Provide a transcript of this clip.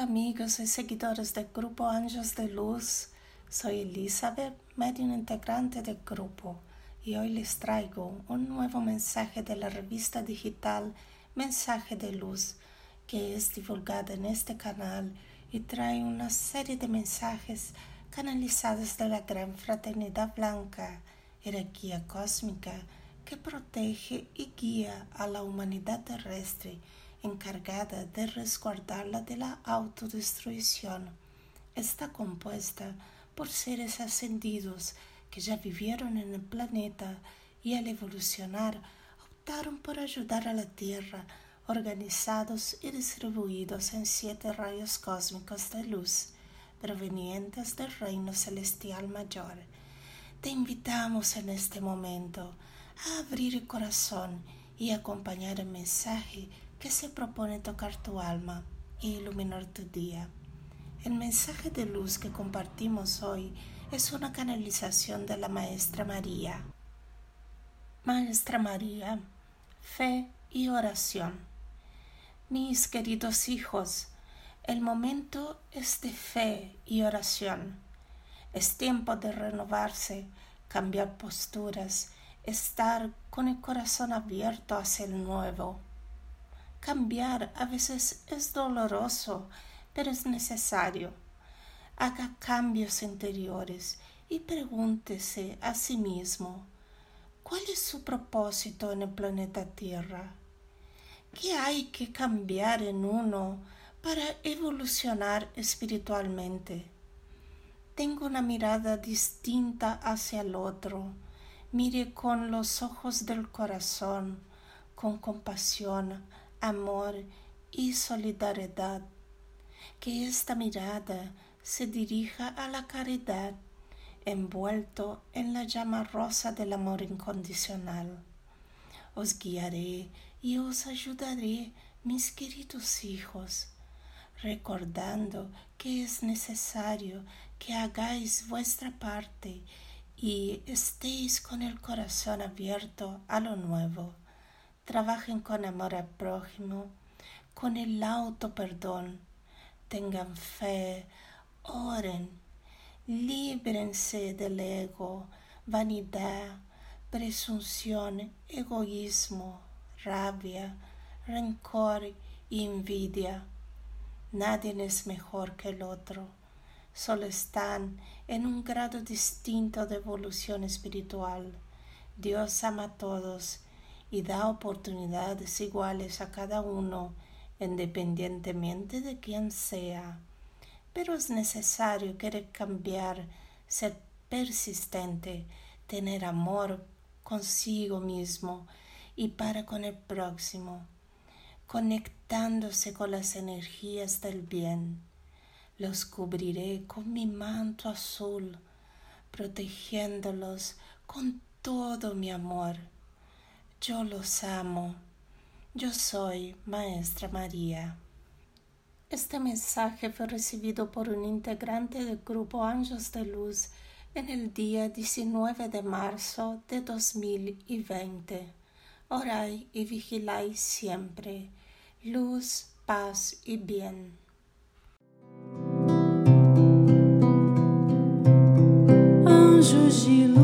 amigos y seguidores del grupo Anjos de Luz. Soy Elizabeth, medium integrante del grupo, y hoy les traigo un nuevo mensaje de la revista digital Mensaje de Luz, que es divulgada en este canal y trae una serie de mensajes canalizados de la gran fraternidad blanca, jerarquía cósmica que protege y guía a la humanidad terrestre, encargada de resguardarla de la autodestrucción. Está compuesta por seres ascendidos que ya vivieron en el planeta y al evolucionar optaron por ayudar a la Tierra, organizados y distribuidos en 7 rayos cósmicos de luz, provenientes del reino celestial mayor. Te invitamos en este momento a abrir el corazón y acompañar el mensaje que se propone tocar tu alma e iluminar tu día. El mensaje de luz que compartimos hoy es una canalización de la Maestra María. Maestra María, fe y oración. Mis queridos hijos, el momento es de fe y oración. Es tiempo de renovarse, cambiar posturas, estar con el corazón abierto hacia el nuevo. Cambiar a veces es doloroso, pero es necesario. Haga cambios interiores y pregúntese a sí mismo, ¿cuál es su propósito en el planeta Tierra? ¿Qué hay que cambiar en uno para evolucionar espiritualmente? Tengo una mirada distinta hacia el otro. Mire con los ojos del corazón, con compasión, amor y solidaridad. Que esta mirada se dirija a la caridad, envuelto en la llama rosa del amor incondicional. Os guiaré y os ayudaré, mis queridos hijos, recordando que es necesario que hagáis vuestra parte y estéis con el corazón abierto a lo nuevo. Trabajen con amor al prójimo, con el auto perdón, tengan fe, oren, líbrense del ego, vanidad, presunción, egoísmo, rabia, rencor y envidia. Nadie es mejor que el otro, solo están en un grado distinto de evolución espiritual. Dios ama a todos y da oportunidades iguales a cada uno, independientemente de quién sea. Pero es necesario querer cambiar, ser persistente, tener amor consigo mismo y para con el próximo, conectándose con las energías del bien. Los cubriré con mi manto azul, protegiéndolos con todo mi amor. Yo los amo. Yo soy Maestra María. Este mensaje fue recibido por un integrante del grupo Anjos de Luz en el día 19 de marzo de 2020. Orai y vigiláis siempre. Luz, paz y bien. Anjos de luz.